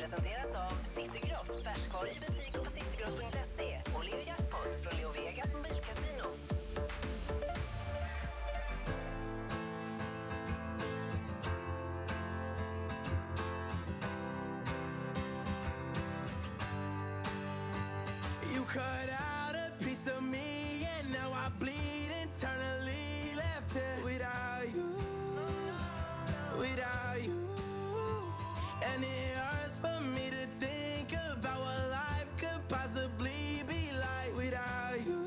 presenteras av Citygross. Färskvaror i butik och på citygross.se. Och Leo Jackpot från Leo Vegas mobilkasino. You cut out a piece of me and now I bleed internally, left here without you, without you. And it hurts for me to think about what life could possibly be like without you,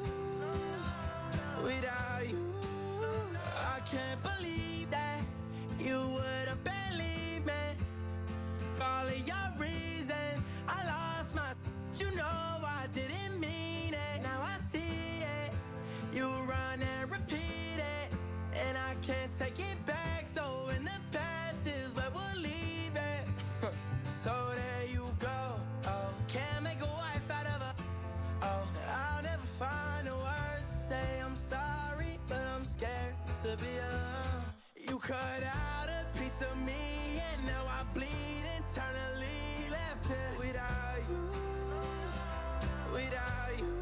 without you. I can't believe that you would have believed me. All of your reasons, I lost my, you know I didn't mean it. Now I see it, you run and repeat it, and I can't take it back. So in the past is where we'll leave it. So there you go. Oh, can't make a wife out of her. Oh, I'll never find the words to say I'm sorry, but I'm scared to be alone. You cut out a piece of me and now I bleed internally, left here without you, without you.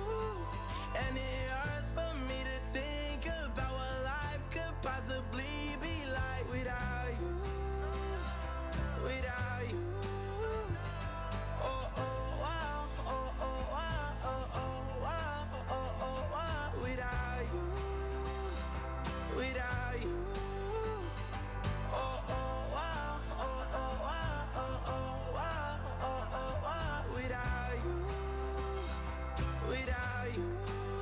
And it hurts for me to think about what life could possibly be like without you, without you. Oh, oh, wow, oh, oh, wow, oh, oh, wow, oh, oh, wow, without you, without you. Oh, oh, wow, oh, oh, wow, oh, oh, wow, oh, oh, wow, without you, without you.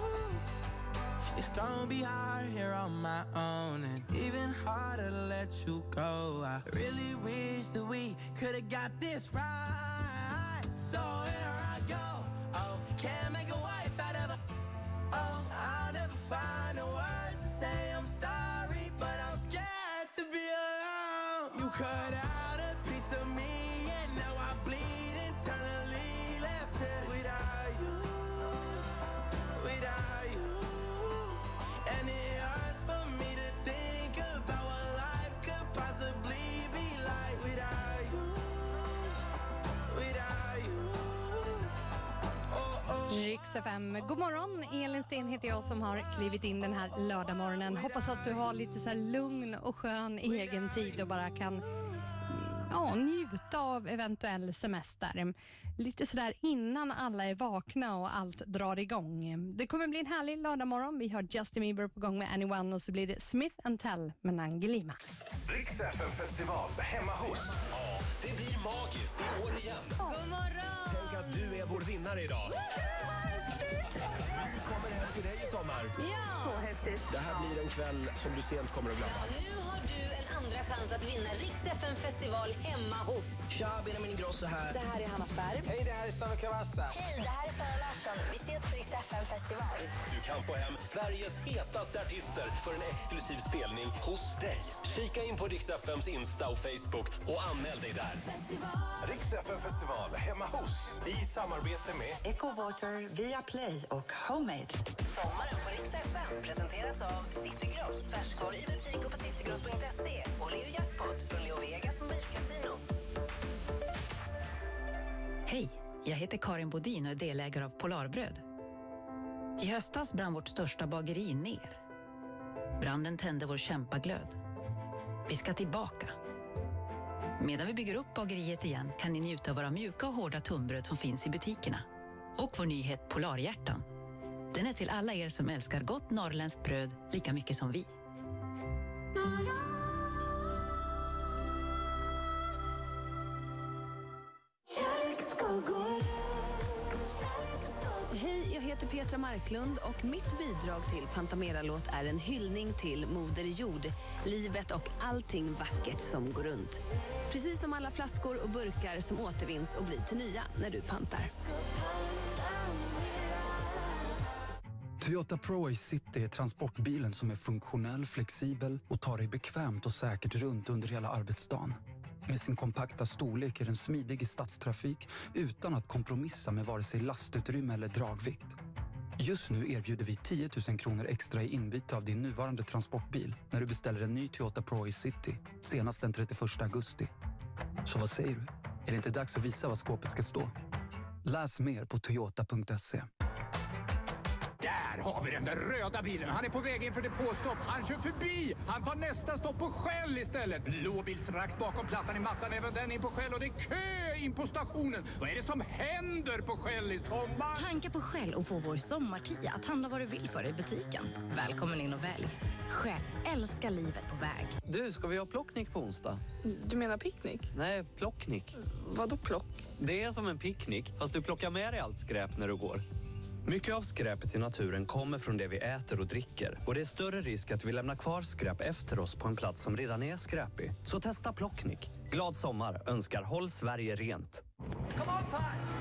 It's gonna be hard here on my own, and even harder to let you go. I really wish that we could've got this right. So here I go. Oh, can't make a wife out of her. Oh, I'll never find the words to say I'm sorry, but I'm scared to be alone. You cut out a piece of me and now I bleed internally, left here without you, without you. And it hurts for me to think about what life could possibly be like without you, without you. Oh, oh. Riks FM. God morgon, Elin Sten heter jag som har klivit in den här lördagmorgonen. Hoppas att du har lite så här lugn och skön egen tid och bara kan njuta av eventuell semester. Lite sådär innan alla är vakna och allt drar igång. Det kommer bli en härlig lördagmorgon. Vi har Justin Bieber på gång med Anyone och så blir det Smith & Tell med Nangilima. Riks FM-festival hemma hos. Ja, det blir magiskt i år igen. God morgon! Tänk att du är vår vinnare idag. Vi kommer hem till dig i sommar. Ja! Så häftigt. Det här blir en kväll som du sent kommer att glömma. Nu har du en andra chans att vinna Riks FM-festival hemma hos. Tja, Benjamin Ingrosso här. Det här är Hanna Färm. Hej, det här är Sanna Cavazza. Hej, det här är Sara Larsson. Vi ses på Riks FM-festival. Du kan få hem Sveriges hetaste artister för en exklusiv spelning hos dig. Kika in på Riks FMs Insta och Facebook och anmäl dig där. Riks FM-festival hemma hos. I samarbete med EcoWater, Viaplay och Homemade. Sommaren på Riks FM presenteras av Citygross. Färskvaror i butik och på citygross.se. Och Leo Jackpot från Leo Vegas mobilkasino. Hej, jag heter Karin Bodin och är delägare av Polarbröd. I höstas brann vårt största bageri ner. Branden tände vår kämpaglöd. Vi ska tillbaka. Medan vi bygger upp bageriet igen kan ni njuta av våra mjuka och hårda tunnbröd som finns i butikerna. Och vår nyhet Polarhjärtan. Den är till alla er som älskar gott norrländskt bröd lika mycket som vi. Hej, jag heter Petra Marklund och mitt bidrag till Pantamera-låt är en hyllning till Moder Jord, livet och allting vackert som går runt. Precis som alla flaskor och burkar som återvinns och blir till nya när du pantar. Toyota Pro City är transportbilen som är funktionell, flexibel och tar dig bekvämt och säkert runt under hela arbetsdagen. Med sin kompakta storlek är den smidig i stadstrafik utan att kompromissa med vare sig lastutrymme eller dragvikt. Just nu erbjuder vi 10 000 kronor extra i inbyte av din nuvarande transportbil när du beställer en ny Toyota Pro City senast den 31 augusti. Så vad säger du? Är det inte dags att visa vad skåpet ska stå? Läs mer på toyota.se. Där har vi den där röda bilen. Han är på väg in för depåstopp. Han kör förbi. Han tar nästa stopp på Shell istället. Blå bil strax bakom plattan i mattan. Även den in på Shell och det är kö in på stationen. Vad är det som händer på Shell i sommar? Tanka på Shell och få vår sommartia att handla vad du vill för i butiken. Välkommen in och välj. Shell, älskar livet på väg. Du, ska vi ha plocknick på onsdag? Du menar picknick? Nej, plocknick. Vadå plock? Det är som en picknick, fast du plockar med dig allt skräp när du går. Mycket av skräpet i naturen kommer från det vi äter och dricker. Och det är större risk att vi lämnar kvar skräp efter oss på en plats som redan är skräpig. Så testa plocknick. Glad sommar önskar Håll Sverige rent. Come on, Pat!